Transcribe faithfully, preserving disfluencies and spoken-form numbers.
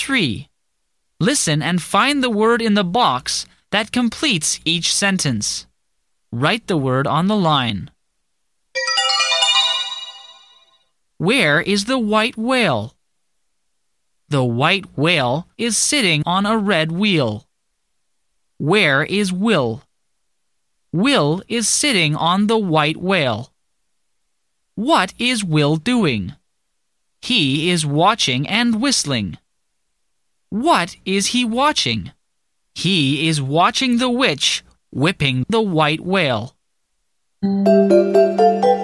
three. Listen and find the word in the box that completes each sentence. Write the word on the line. Where is the white whale? The white whale is sitting on a red wheel. Where is Will? Will is sitting on the white whale. What is Will doing? He is watching and whistling. What is he watching? He is watching the witch whipping the white whale.